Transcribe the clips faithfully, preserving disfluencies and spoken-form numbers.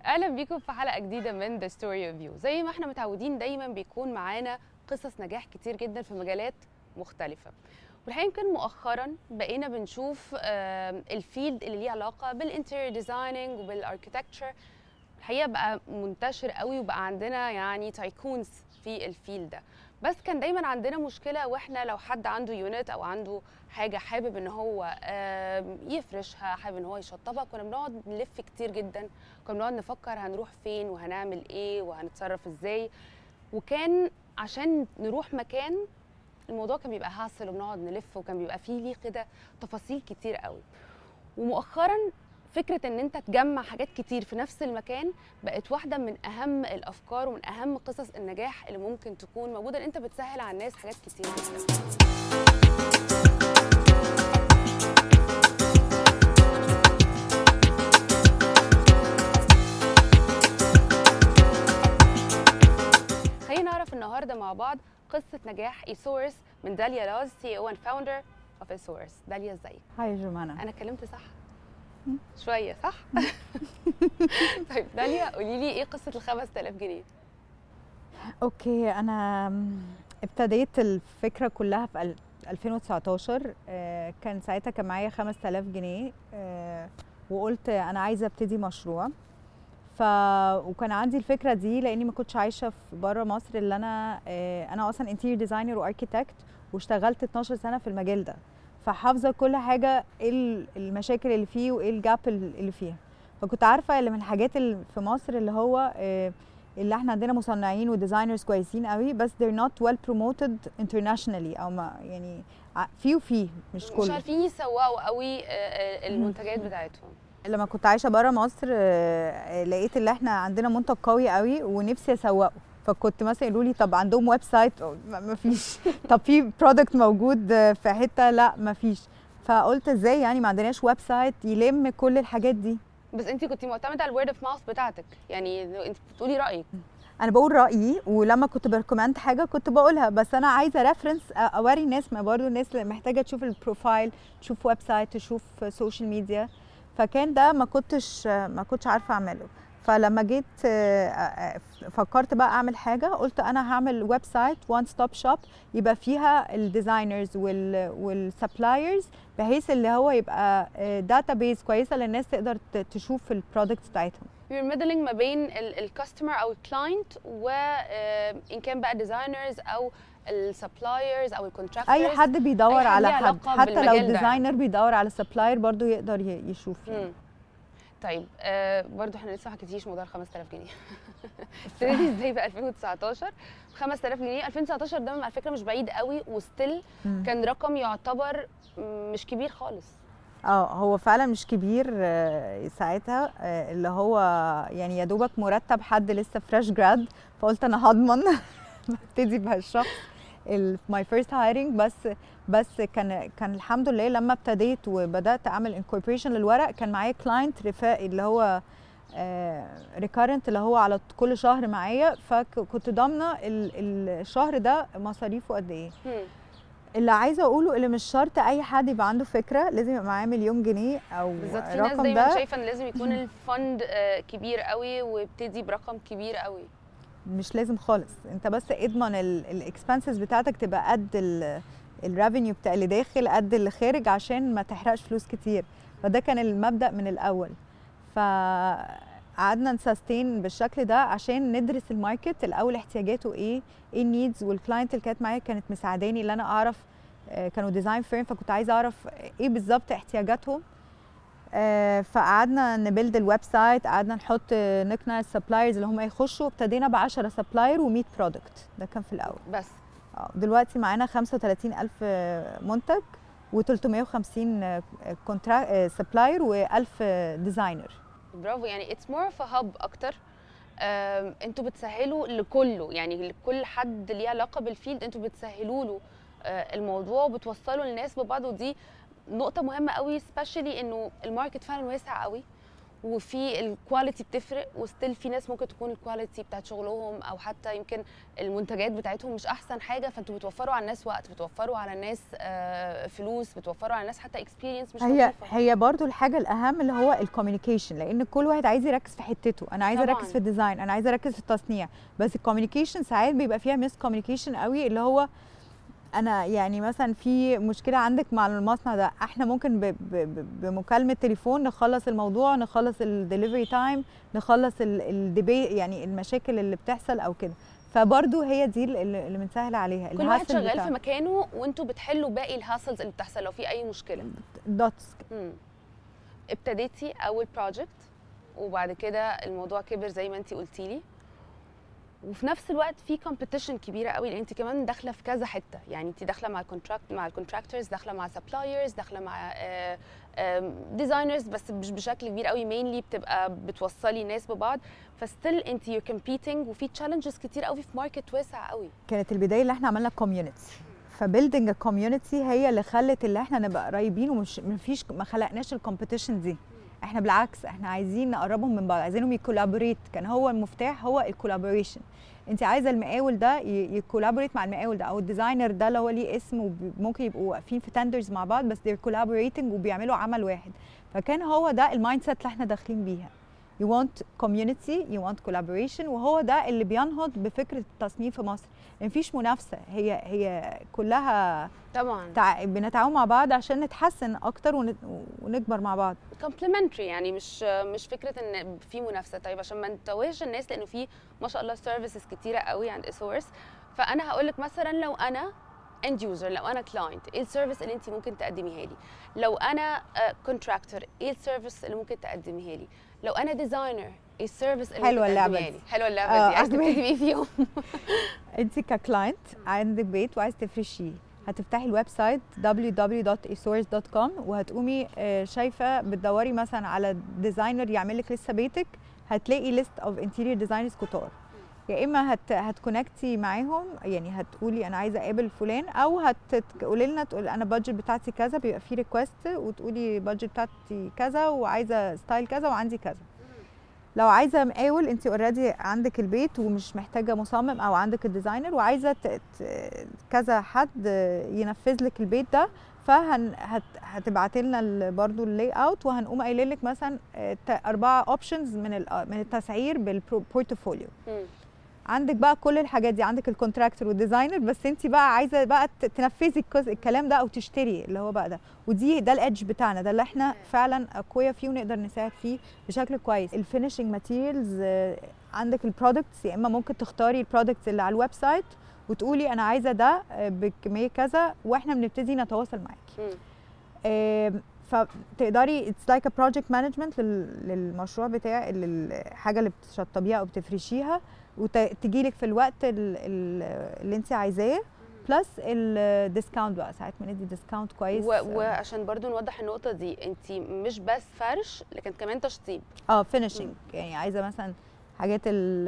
اهلا بيكم في حلقه جديده من The Story of You. زي ما احنا متعودين دايما بيكون معانا قصص نجاح كتير جدا في مجالات مختلفه، والحقيقه يمكن مؤخرا بقينا بنشوف الفيلد اللي ليه علاقه بالانتيريور ديزايننج وبالاركيتكتشر الحقيقه بقى منتشر قوي، وبقى عندنا يعني تايكونز في الفيلد ده. بس كان دايما عندنا مشكله، واحنا لو حد عنده يونت او عنده حاجه حابب ان هو يفرشها، حابب ان هو يشطبها، كنا بنقعد نلف كتير جدا، كنا بنقعد نفكر هنروح فين وهنعمل ايه وهنتصرف ازاي. وكان عشان نروح مكان الموضوع كان بيبقى هاسل، وبنقعد نلف، وكان بيبقى فيه ليه كده تفاصيل كتير قوي. ومؤخرا فكرة ان انت تجمع حاجات كتير في نفس المكان بقت واحدة من اهم الافكار ومن اهم قصص النجاح اللي ممكن تكون موجودة، ان انت بتسهل على الناس حاجات كتير جدا. خلينا نعرف النهارده مع بعض قصة نجاح ايسورس من داليا لاز، سي او اند فاوندر اوف ايسورس. داليا ازيك؟ هاي جمانة. انا اتكلمت صح؟ شوية صح؟ طيب داليا قولي لي ايه قصة ال خمسة آلاف جنيه؟ اوكي، انا ابتديت الفكرة كلها في ألفين وتسعتاشر. كان ساعتها كان معايا خمسة آلاف جنيه، وقلت انا عايزة ابتدي مشروع. ف وكان عندي الفكرة دي لاني ما كنتش عايشة في بره مصر، اللي انا انا اصلا انتيريور ديزاينر واركيتكت، واشتغلت اتناشر سنة في المجال ده، فحافظه كل حاجه، ايه المشاكل اللي فيه وايه الجاب اللي فيها. فكنت عارفه اللي من الحاجات اللي في مصر اللي هو اللي احنا عندنا مصنعين وديزاينرز كويسين قوي، بس they're not well promoted internationally، او ما يعني في وفي مش كله، مش عارفين يسوقوا قوي المنتجات بتاعتهم. لما كنت عايشه بره مصر لقيت اللي احنا عندنا منتج قوي قوي ونفسي اسوقه، فكنت مثلا يقولوا لي طب عندهم ويب سايت؟ ما فيش. طب في برودكت موجود في حته؟ لا ما فيش. فقلت ازاي يعني ما عندناش ويب سايت يلم كل الحاجات دي؟ بس انت كنت معتمده على الورد اوف ماوث بتاعتك، يعني انت بتقولي رايك. انا بقول رايي، ولما كنت بريكومند حاجه كنت بقولها، بس انا عايزه ريفرنس اوري الناس، ما برضه الناس محتاجه تشوف البروفايل، تشوف ويب سايت، تشوف سوشيال ميديا. فكان ده ما كنتش ما كنتش عارفه اعمله. فلما جيت فكرت بقى اعمل حاجه، قلت انا هعمل ويب سايت وان ستوب شوب يبقى فيها الديزاينرز والسبلايرز، بحيث اللي هو يبقى داتا بيز كويسه للناس تقدر تشوف البرودكتس بتاعتهم. You're middling ما بين الكاستمر او الكلاينت، وان كان بقى ديزاينرز او السبلايرز او الكونتراكتورز، اي حد بيدور أي على حد، حتى لو الديزاينر بيدور على سبلاير برضو يقدر يشوف يعني. طيب آه برضو احنا لسه ما حكيتيش موضوع ال خمسة آلاف جنيه. ابتديتي ازاي في ألفين وتسعتاشر خمسة آلاف جنيه؟ ألفين وتسعتاشر ده على فكره مش بعيد قوي، وستيل كان رقم يعتبر مش كبير خالص. اه هو فعلا مش كبير ساعتها، اللي هو يعني يا دوبك مرتب حد لسه فريش جراد، فقلت انا هضمن ابتدي بهالشخص ماي فيرست هايرنج. بس بس كان كان الحمد لله لما ابتديت وبدات اعمل انكوربريشن للورق، كان معايا كلاينت رفاقي اللي هو ريكارنت، اللي هو على كل شهر معايا، فكنت ضامنه الشهر ده مصاريفه قد ايه. اللي عايزه اقوله اللي مش شرط اي حد يبقى عنده فكره لازم يبقى معاه مليون جنيه او بالظبط. في ناس دايما شايفه ان لازم يكون الفند كبير قوي وابتدي برقم كبير قوي. مش لازم خالص، انت بس اضمن الاكسبنسز بتاعتك تبقى قد الريفينيو بتاع اللي داخل قد اللي خارج، عشان ما تحرقش فلوس كتير. فده كان المبدأ من الاول. فقعدنا نسستين بالشكل ده عشان ندرس الماركت الاول، احتياجاته ايه، ايه النيدز. والكلاينت اللي كانت معايا كانت مساعداني اللي انا اعرف، كانوا ديزاين فيرم، فكنت عايزه اعرف ايه بالظبط احتياجاتهم. فقعدنا نبيلد الويب سايت، قعدنا نحط نقنع السبلايرز اللي هم يخشوا، ابتدينا ب عشرة سبلاير ومية برودكت. ده كان في الاول بس. اه دلوقتي معانا خمسة وتلاتين ألف منتج وتلتمية وخمسين كونتراكت سبلاير وألف ديزاينر. برافو، يعني اتس مور اوف هاب اكتر. انتوا بتسهلوا لكله، يعني لكل حد ليه علاقه بالفيلد انتوا بتسهلوا له الموضوع وبتوصلوا الناس ببعض. ودي نقطه مهمه قوي، سبيشالي انه الماركت فعلا واسع قوي، وفي الكواليتي بتفرق، وستيل في ناس ممكن تكون الكواليتي بتاعت شغلهم او حتى يمكن المنتجات بتاعتهم مش احسن حاجه، فانتوا بتوفروا على الناس وقت، بتوفروا على الناس فلوس، بتوفروا على الناس حتى اكسبيرينس مش هي لطيفه. هي برضو الحاجه الاهم اللي هو الكوميونيكيشن، لان كل واحد عايز يركز في حتته. انا عايزه اركز في الديزاين، انا عايزه اركز في التصنيع، بس الكوميونيكيشن ساعات بيبقى فيها ميس كوميونيكيشن قوي، اللي هو انا يعني مثلا في مشكله عندك مع المصنع ده، احنا ممكن ب ب بمكالمه تليفون نخلص الموضوع، نخلص الدليفري تايم، نخلص الديبي يعني المشاكل اللي بتحصل او كده. فبرضو هي دي اللي بنسهل عليها. كل واحد شغال بتاع. في مكانه وانتوا بتحلوا باقي الهاسلز اللي بتحصل لو في اي مشكله. دوتس. ابتديتي اول بروجكت وبعد كده الموضوع كبر زي ما انتي قلتي لي، وفي نفس الوقت في كومبيتيشن كبيره قوي، لان انت كمان داخله في كذا حته، يعني انت داخله مع الكونتراكت مع الكونتراكتورز، داخله مع سبلايرز، داخله مع ديزاينرز، بس مش بشكل كبير قوي، مينلي بتبقى بتوصلي ناس ببعض، فستيل انت يو كومبيتنج، وفي تشالنجز كتير قوي في ماركت واسع قوي. كانت البدايه اللي احنا عملنا كوميونتي، فبيلدينج الكوميونتي هي اللي خلت اللي احنا نبقى قريبين، ومش مفيش ما خلقناش الكومبيتيشن دي. احنا بالعكس احنا عايزين نقربهم من بعض، عايزينهم يكولابوريت. كان هو المفتاح هو الكولابوريشن. انت عايزه المقاول ده يكولابوريت مع المقاول ده، او الديزاينر ده اللي هو ليه اسم، وممكن يبقوا واقفين في تندرز مع بعض، بس they're collaborating وبيعملوا عمل واحد. فكان هو ده المايند سيت اللي احنا داخلين بيها. you want community, you want collaboration، وهو ده اللي بينهض بفكره التصميم في مصر. مفيش منافسه، هي هي كلها طبعا تع... بنتعاون مع بعض عشان نتحسن اكتر ون... ونكبر مع بعض. كومبلمنتري، يعني مش مش فكره ان في منافسه. طيب عشان ما نتوهش الناس، لانه في ما شاء الله سيرفيسز كتيره قوي عند اسورس، فانا هقول لك مثلا لو انا اند يوزر، لو انا كلاينت، ايه السيرفيس اللي انت ممكن تقدميها لي؟ لو انا كونتراكتور، ايه السيرفيس اللي ممكن تقدميها لي؟ لو انا ديزاينر، ايه السيرفيس اللي حلوه ممكن اللعبه تقدميها لي؟ حلوه اللعبه دي. عايز تبتدي بيه فيهم؟ انت ككلاينت عندك بيت وعايز تفرشيه، هتفتحي الويب سايت دبليو دبليو دبليو دوت ايسورس دوت كوم، وهتقومي شايفه بتدوري مثلا على ديزاينر يعمل لك لسه بيتك، هتلاقي ليست اوف انتيريور ديزاينرز كتار. يا اما هت هتكونكتي معاهم، يعني هتقولي انا عايزه اقابل فلان، او هتقولي لنا تقول انا البادجت بتاعتي كذا، بيبقى في ريكوست وتقولي البادجت بتاعتي كذا وعايزه ستايل كذا وعندي كذا. لو عايزه مقاول، انت اوريدي عندك البيت ومش محتاجه مصمم، او عندك الديزاينر وعايزه كذا حد ينفذ لك البيت ده، فهن هتبعتي لنا برضو اللاي اوت، وهنقوم قايلين لك مثلا اربعه اوبشنز من من التسعير بالبورتفوليو. عندك بقى كل الحاجات دي، عندك الكونتراكتور والديزاينر، بس انت بقى عايزه بقى تنفذي الكلام ده او تشتري اللي هو بقى ده. ودي ده الادج بتاعنا، ده اللي احنا فعلا اقوياء فيه ونقدر نساعد فيه بشكل كويس. الفينيشنج ماتيريالز، عندك البرودكتس، يا اما ممكن تختاري البرودكتس اللي على الويب سايت وتقولي انا عايزه ده بكميه كذا، واحنا بنبتدي نتواصل معاكي. فتقدري اتس لايك ا بروجكت مانجمنت للمشروع بتاع الحاجه اللي بتشطبيها او بتفرشيها، وتجي لك في الوقت اللي انت عايزاه، بلس الديسكاونت بقى ساعات بندي ديسكاونت كويس. وعشان برضو نوضح النقطه دي، انت مش بس فرش لكن كمان تشطيب. اه فينيشنج، يعني عايزه مثلا حاجات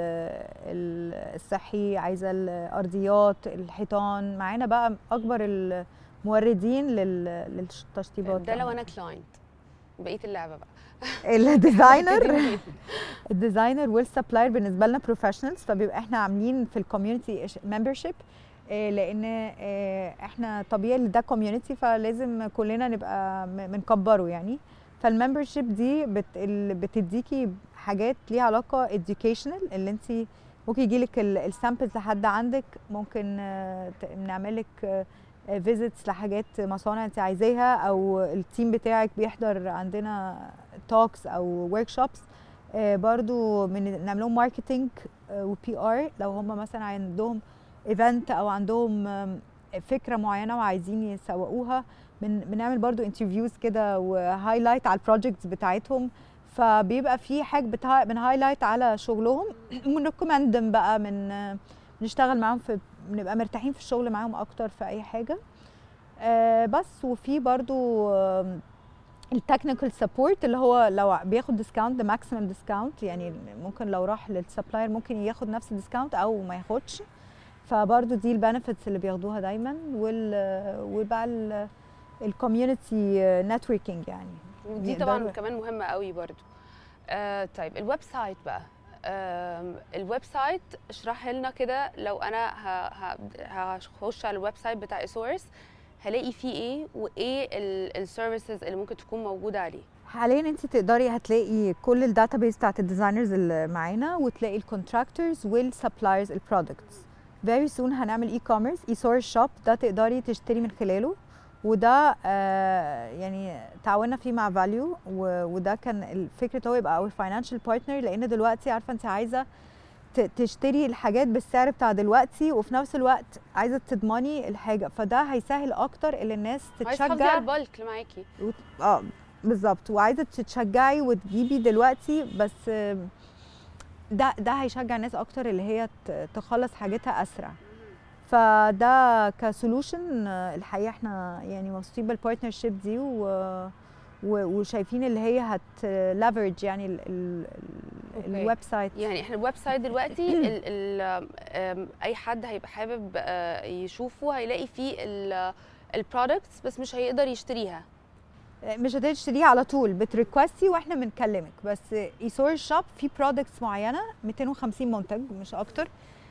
الصحي، عايزه الارضيات، الحيطان، معانا بقى اكبر الموردين للتشطيبات. ده لو انا كلاينت، بقيه اللعبه بقى الديزاينر الديزاينر والسبلاير بالنسبه لنا بروفيشنالز، فبيبقى احنا عاملين في الكوميونتي ممبرشيب، لان احنا طبيعي ده كوميونتي، فلازم كلنا نبقى بنكبره يعني. فالممبرشيب دي بت بتديكي حاجات ليها علاقه educational، اللي انت ممكن يجيلك السامبلز لحد عندك، ممكن نعمل لك فيزيتس لحاجات مصانع انت عايزاها، او التيم بتاعك بيحضر عندنا توكس او ورك شوبس. برضو من نعمل لهم ماركتنج وبي ار، لو هم مثلا عندهم ايفنت او عندهم فكره معينه وعايزين يسوقوها، بنعمل برضو انترفيوز كده وهايلايت على البروجكتس بتاعتهم، فبيبقى في حاجه بنهايلايت على شغلهم ونريكومندهم بقى، من نشتغل معاهم، في بنبقى مرتاحين في الشغل معاهم اكتر في اي حاجه. آه بس وفي برضو آه التكنيكال سبورت، اللي هو لو بياخد ديسكاونت ده ماكسيمم ديسكاونت، يعني ممكن لو راح للسبلاير ممكن ياخد نفس الديسكاونت او ما ياخدش، فبرضو دي البنفيتس اللي بياخدوها دايما. وال وبقى الكوميونتي نتوركينج، يعني دي طبعا كمان مهمه قوي برضو. آه طيب الويب سايت بقى، آه الويب سايت اشرح لنا كده. لو انا هخش على الويب سايت بتاع ايسورس هلاقي فيه ايه وايه السيرفيسز اللي ممكن تكون موجوده عليه؟ حاليا انت تقدري هتلاقي كل الداتابيس بتاعت الديزاينرز اللي معانا، وتلاقي الكونتراكتورز والسبلايرز البرودكتس. فيري سون هنعمل اي كوميرس، اي سورس شوب، ده تقدري تشتري من خلاله، وده آه يعني تعاوننا فيه مع فاليو، وده كان الفكره هو يبقى اور فاينانشال بارتنر، لان دلوقتي عارفه انت عايزه تشتري الحاجات بالسعر بتاع دلوقتي، وفي نفس الوقت عايزه تضمني الحاجه، فده هيسهل اكتر اللي الناس تتشجع. عايزه تحافظي على البالك اللي معاكي. اه بالظبط، وعايزه تتشجعي وتجيبي دلوقتي، بس ده ده هيشجع الناس اكتر اللي هي تخلص حاجتها اسرع. فده كسولوشن الحقيقه احنا يعني مبسوطين بالبارتنرشيب دي، و وشايفين اللي هي هتلافرج يعني ال ال الويب سايت. يعني احنا الويب سايت دلوقتي ال ال اي حد هيبقى حابب يشوفه هيلاقي فيه البرودكتس، بس مش هيقدر يشتريها. مش هتقدري تشتريها على طول، بتريكوستي واحنا بنكلمك. بس ايسورس شوب في برودكتس معينه مئتين وخمسين منتج مش اكتر،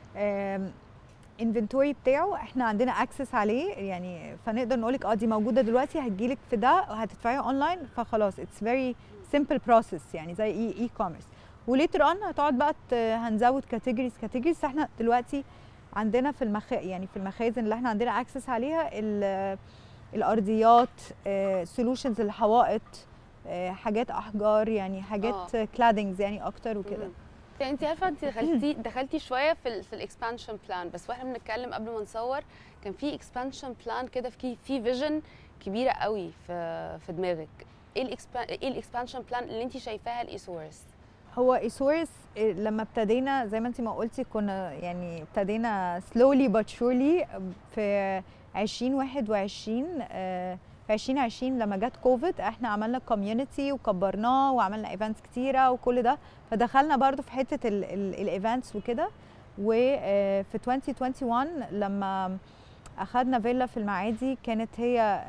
انفنتوري بتاعه احنا عندنا اكسس عليه، يعني فنقدر نقولك اه دي موجوده دلوقتي، هتجيلك في ده وهتدفعيها اونلاين، فخلاص اتس فيري سمبل بروسيس يعني زي اي اي كوميرس. وليتر اون هتقعد بقى هنزود كاتيجوريز كاتيجوريز. احنا دلوقتي عندنا في المخ يعني في المخازن اللي احنا عندنا اكسس عليها الارضيات، سولوشنز الحوائط، حاجات احجار، يعني حاجات كلادنجز يعني اكتر وكده. يعني انت عارفه انت دخلتي دخلتي شويه في ال في الاكسبانشن بلان، بس واحنا بنتكلم قبل ما نصور كان في اكسبانشن بلان كده، في في فيجن كبيره قوي في في دماغك. ايه الاكسبان ايه الاكسبانشن بلان اللي انت شايفاها لايسورس؟ هو ايسورس لما ابتدينا زي ما انت ما قلتي كنا يعني ابتدينا سلولي بات شورلي في عشرين واحد وعشرين. في عشرين عشرين لما جت كوفيد احنا عملنا كوميونتي وكبرناه وعملنا ايفنتس كتيره وكل ده، فدخلنا برضو في حته الايفنتس وكده. وفي ألفين وواحد وعشرين لما اخذنا فيلا في المعادي كانت هي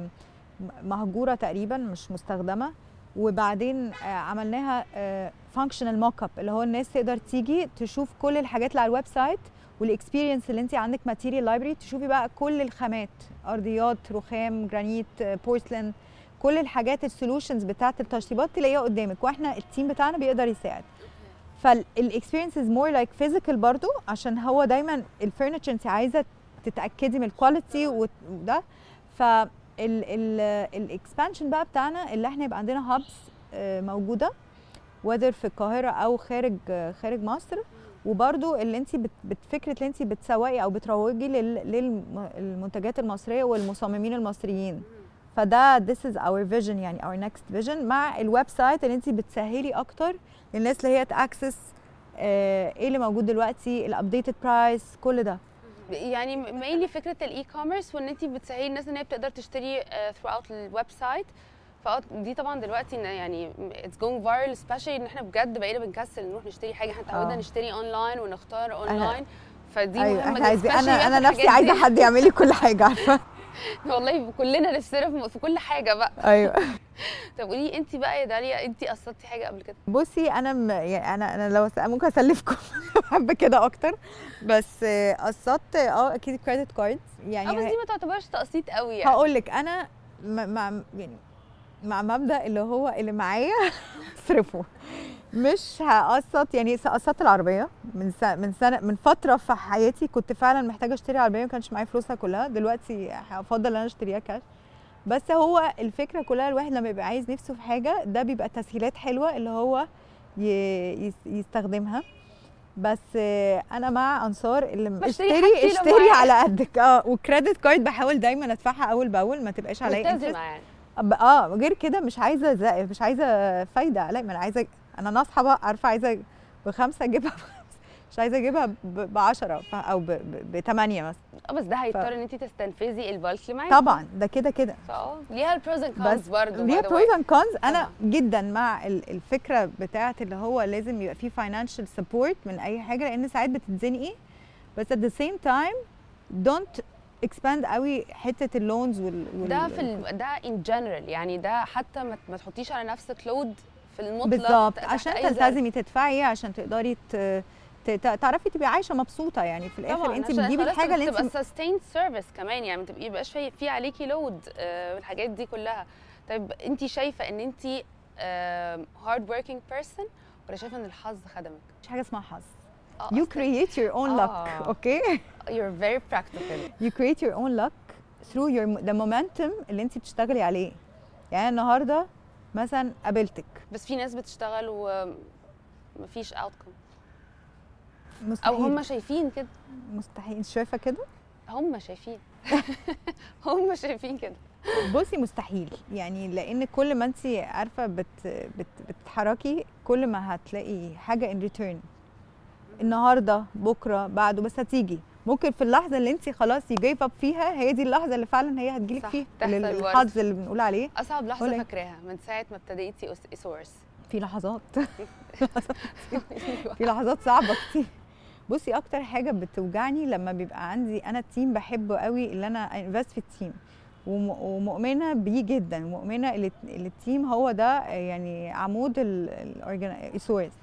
مهجوره تقريبا مش مستخدمه، وبعدين عملناها فانكشنال موك اب اللي هو الناس تقدر تيجي تشوف كل الحاجات اللي على الويب سايت والاكسبيرينس اللي انت عندك ماتيريال لايبرري، تشوفي بقى كل الخامات، ارضيات، رخام، جرانيت، بورسلين، كل الحاجات السولوشنز بتاعت التشطيبات تلاقيها قدامك، واحنا التيم بتاعنا بيقدر يساعد. فالاكسبيرينس از مور لايك فيزيكال برضو، عشان هو دايما الفرنتشر انت عايزه تتاكدي من الكواليتي وده. ف الاكسبانشن بقى بتاعنا اللي احنا يبقى عندنا هابس موجوده وذر في القاهره او خارج خارج مصر، وبرضو اللي انت بفكره اللي انت بتسوقي او بتروجي للمنتجات المصريه والمصممين المصريين. فده this is our vision يعني our next vision، مع الويب سايت اللي انت بتسهلي اكتر للناس اللي هي تاكسس ايه اللي موجود دلوقتي، الابديتد برايس، كل ده. يعني مينلي فكره الاي كوميرس، وان انت بتسهلي الناس ان هي بتقدر تشتري ثرو اوت الويب سايت. فدي طبعا دلوقتي يعني اتس جوينج فايرال، سبيشالي ان احنا بجد بقينا بنكسل نروح نشتري حاجه، احنا اتعودنا نشتري اونلاين ونختار اونلاين. فدي أيوة مهمه جدا. انا انا نفسي عايزه حد يعمل لي كل حاجه، عارفه والله كلنا نفسنا في كل حاجه بقى. ايوه. طب قولي انت بقى يا داليا، انت قسطتي حاجه قبل كده؟ بصي انا م... يعني انا انا لو ممكن اسلفكم بحب كده اكتر، بس قسطت اه اكيد كريدت كاردز يعني. اه بس دي ما تعتبرش تقسيط قوي يعني. هقول لك انا مع يعني مع مبدا اللي هو اللي معايا اصرفه، مش هقسط. يعني قسطت العربيه من سنة من سنه من فتره في حياتي كنت فعلا محتاجه اشتري عربيه، ما كانش معايا فلوسها كلها. دلوقتي هفضل ان انا اشتريها كاش. بس هو الفكره كلها الواحد لما يبقى عايز نفسه في حاجه ده بيبقى تسهيلات حلوه اللي هو يستخدمها. بس انا مع انصار اللي اشتري اشتري على قدك. اه وكريدت كارد بحاول دايما ادفعها اول باول، ما تبقاش عليا انترست يعني. اه غير كده مش عايزه مش عايزه فايده. لا ما انا عايزه، انا ناصحه بقى عارفه، عايزه بخمسه اجيبها بخمسه، مش عايزه اجيبها ب عشرة او ب ثمانية مثلا. اه بس ده هيضطر ف... ان انت تستنفذي البالك اللي معاكي. طبعا ده كده كده. اه ليها البروز اند كونز برضه. ليها بروز اند كونز. انا جدا مع الفكره بتاعه اللي هو لازم يبقى فيه فاينانشال سبورت من اي حاجه، لان ساعات بتتزنقي، بس at the same time don't expand قوي حته اللونز وال, وال ده في ال... ده ان جنرال يعني. ده حتى ما, ما تحطيش على نفسك لود في المطلق بالظبط، تحت عشان أي ظرف. تلتزمي تدفعي عشان تقدري ت- ت- تعرفي تبقي عايشه مبسوطه، يعني في الاخر طبعا انت عشان بتجيبي خلاص الحاجه اللي تبقى انت sustained service كمان، يعني ما تبقي يبقاش في في عليكي لود والحاجات دي كلها. طيب انت شايفه ان انت هارد وركينج بيرسون ولا شايفه ان الحظ خدمك؟ مش حاجه اسمها حظ. اه You أصلاً create your own luck. آه. اوكي you're very practical. you create your own luck through your the momentum اللي انت بتشتغلي عليه. يعني النهارده مثلا قابلتك، بس في ناس بتشتغل ومفيش outcome او مستحيل هم شايفين كده. مستحيل. انت شايفه كده؟ هم شايفين هم شايفين كده. بصي مستحيل، يعني لان كل ما انت عارفه بت بت بتتحركي كل ما هتلاقي حاجه in return. النهارده بكره بعده، بس هتيجي. ممكن في اللحظه اللي انت خلاص you gave up فيها، هي دي اللحظه اللي فعلا هي هتجيلك صح، فيها تحصل ال- برضه. الحظ اللي بنقول عليه. اصعب لحظه ولا إيه؟ فاكراها من ساعه ما ابتديتي سورس؟ في لحظات في لحظات صعبه كتير. بصي اكتر حاجه بتوجعني لما بيبقى عندي انا التيم بحبه قوي، اللي انا انفست في التيم وم- ومؤمنه بيه جدا، مؤمنه اللي اللي التيم هو ده يعني عمود السورس.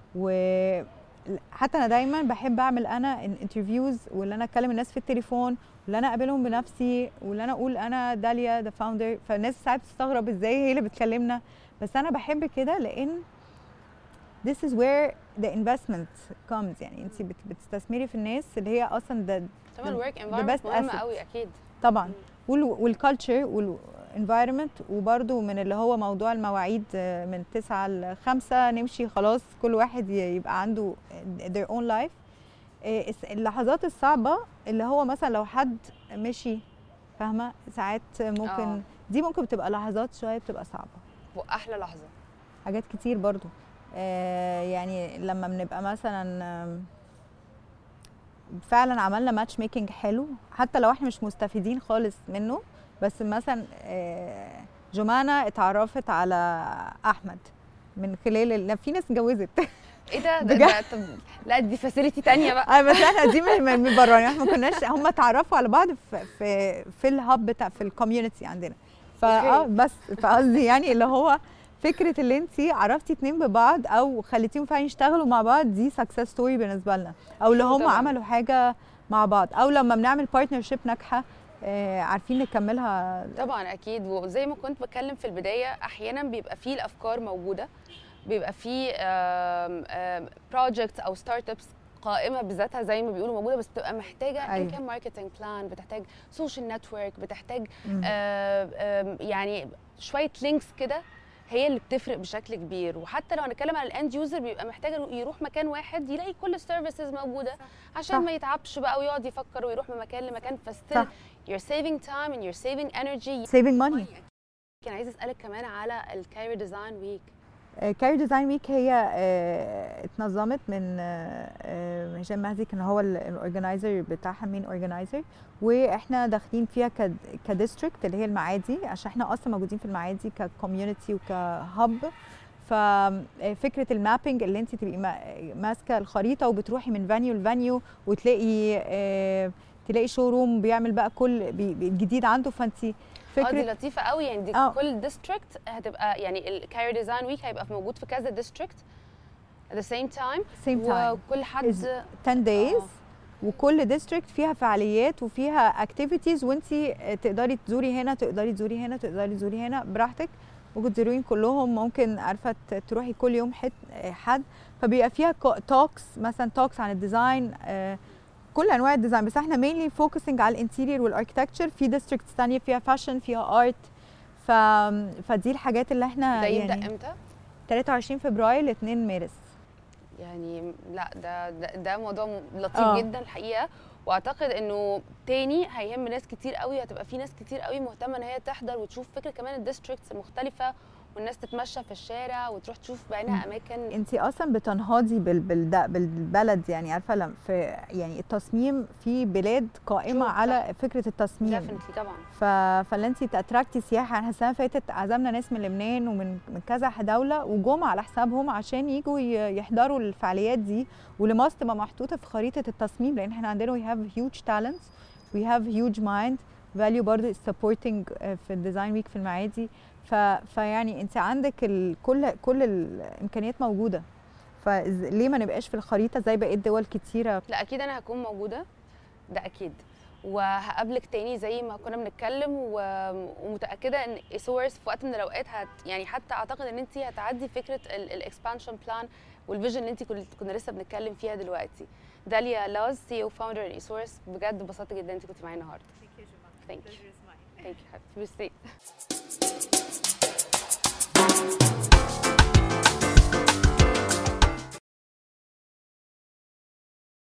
وحتى انا دايما بحب اعمل انا انترفيوز، واللي انا اكلم الناس في التليفون، واللي انا اقابلهم بنفسي، واللي انا اقول انا داليا ذا فاوندر. فالناس ساعات بتستغرب ازاي هي اللي بتكلمنا، بس انا بحب كده لان this is where the investment comes. يعني انت بت- بتستثمري في الناس اللي هي اصلا ده طبعا الورك best انفايرمنت مهمه asset. قوي اكيد طبعا، والكالتشر والانفايرمنت، وبرده من اللي هو موضوع المواعيد آه، من تسعة ل خمسة نمشي خلاص، كل واحد ي- يبقى عنده their own life. آه، الس- اللحظات الصعبة اللي هو مثلا لو حد مشي، فاهمة، ساعات ممكن آه. دي ممكن بتبقى لحظات شوية بتبقى صعبة. واحلى لحظه حاجات كتير برضو. آه، يعني لما بنبقى مثلا آم، فعلا عملنا ماتش ميكنج حلو، حتى لو احنا مش مستفيدين خالص منه، بس مثلا آه، جمانة اتعرفت على احمد من خلال ال- في ناس اتجوزت. ايه ده ده, بجد؟ ده طب لا دي فاسيلتي تانية بقى. اه بس احنا دي من من بره، يعني احنا ما كناش، هم اتعرفوا على بعض في في في الهاب بتاع في الكوميونتي عندنا. فاه أوكي. بس فقصدي يعني اللي هو فكره اللي انت عرفتي اتنين ببعض او خليتيهم فعلا يشتغلوا مع بعض، دي سكسس ستوري بالنسبه لنا. او اللي حلو هم طبعاً. عملوا حاجه مع بعض، او لما بنعمل بارتنرشيب ناجحه آه، عارفين نكملها. طبعا اكيد، وزي ما كنت بتكلم في البدايه احيانا بيبقى فيه الافكار موجوده، بيبقى فيه بروجكتس او ستارت ابس قائمه بذاتها زي ما بيقولوا موجوده، بس بتبقى محتاجه ان أيوة. كان ماركتنج بلان، بتحتاج سوشيال نتورك، بتحتاج مم. آه، آه، يعني شويه لينكس كده هي اللي بتفرق بشكل كبير. وحتى لو هنتكلم عن الاند يوزر بيبقى محتاج يروح مكان واحد يلاقي كل السيرفيسز موجوده عشان صح. ما يتعبش بقى ويقعد يفكر ويروح من مكان لمكان. فستيل صح. you're saving time and you're saving energy. saving money. كان عايزه اسالك كمان على الكارير ديزاين ويك. كارير ديزاين ويك هي آه، اتنظمت من آه، آه، هشام مهدي، كان هو الاورجنايزر بتاعها، مين اورجنايزر، واحنا داخلين فيها كديستريكت اللي هي المعادي، عشان احنا اصلا موجودين في المعادي ككوميونتي وكهب. ففكره المابينج اللي انت تبقي ما- ماسكه الخريطه وبتروحي من فانيو لفانيو وتلاقي آه، تلاقي شو روم بيعمل بقى كل بي- بي- جديد عنده، فانت اه دي فكره لطيفه قوي، يعني دي آه. كل ديستريكت هتبقى، يعني الكارير ديزاين ويك هيبقى موجود في كذا ديستريكت at the same time same time وكل حد is ten days. آه. وكل ديستريكت فيها فعاليات وفيها اكتيفيتيز، وانت تقدري تزوري هنا، تقدري تزوري هنا، تقدري تزوري هنا براحتك. ممكن تزوريهم كلهم، ممكن عارفه ت- تروحي كل يوم حد حد فبيبقى فيها توكس، مثلا توكس عن الديزاين، آه، كل انواع الديزاين، بس احنا مينلي فوكسنج على الانتيريور والاركتكتشر. في ديستريكتس ثانيه فيها فاشن، فيها ارت. ف... فدي الحاجات اللي احنا ده يبدا يعني امتى؟ ثلاثة وعشرين فبراير ل اتنين مارس. يعني لا ده ده, ده موضوع م- لطيف آه. جدا الحقيقه، واعتقد انه تاني هيهم ناس كتير قوي، هتبقى في ناس كتير قوي مهتمه ان هي تحضر وتشوف فكره كمان الديستريكتس المختلفه، والناس تتمشى في الشارع وتروح تشوف بعينها اماكن. انت اصلا بتنهضي بال... بال... بالبلد، يعني عارفه لما في يعني التصميم في بلاد قائمه True، على صح. فكره التصميم. ديفنتلي طبعا. ف... فاللي انت تاتراكتي سياحه. احنا السنه اللي فاتت عزمنا ناس من لبنان ومن من كذا دوله، وجم على حسابهم عشان يجوا ي- يحضروا الفعاليات دي، واللي ماست تبقى محطوطه في خريطه التصميم، لان احنا عندنا we have huge talents we have huge mind value برضه is supporting آه، في الديزاين ويك في المعادي. ف... فيعني انت عندك ال... كل كل الامكانيات موجوده، فليه ما نبقاش في الخريطه زي بقيه دول كتيره؟ لا اكيد انا هكون موجوده، ده اكيد، وهقابلك تاني زي ما كنا بنتكلم، ومتاكده ان ايسورس في وقت من الاوقات هت يعني حتى اعتقد ان انت هتعدي فكره الاكسبانشن بلان والفيجن اللي انت كنا لسه بنتكلم فيها دلوقتي. داليا لاز، سي او فاوندر ايسورس، بجد انبسطت جدا انت كنت معايا النهارده. Thank you, Juma. Thank you. Pleasure is mine. Thank you. Have a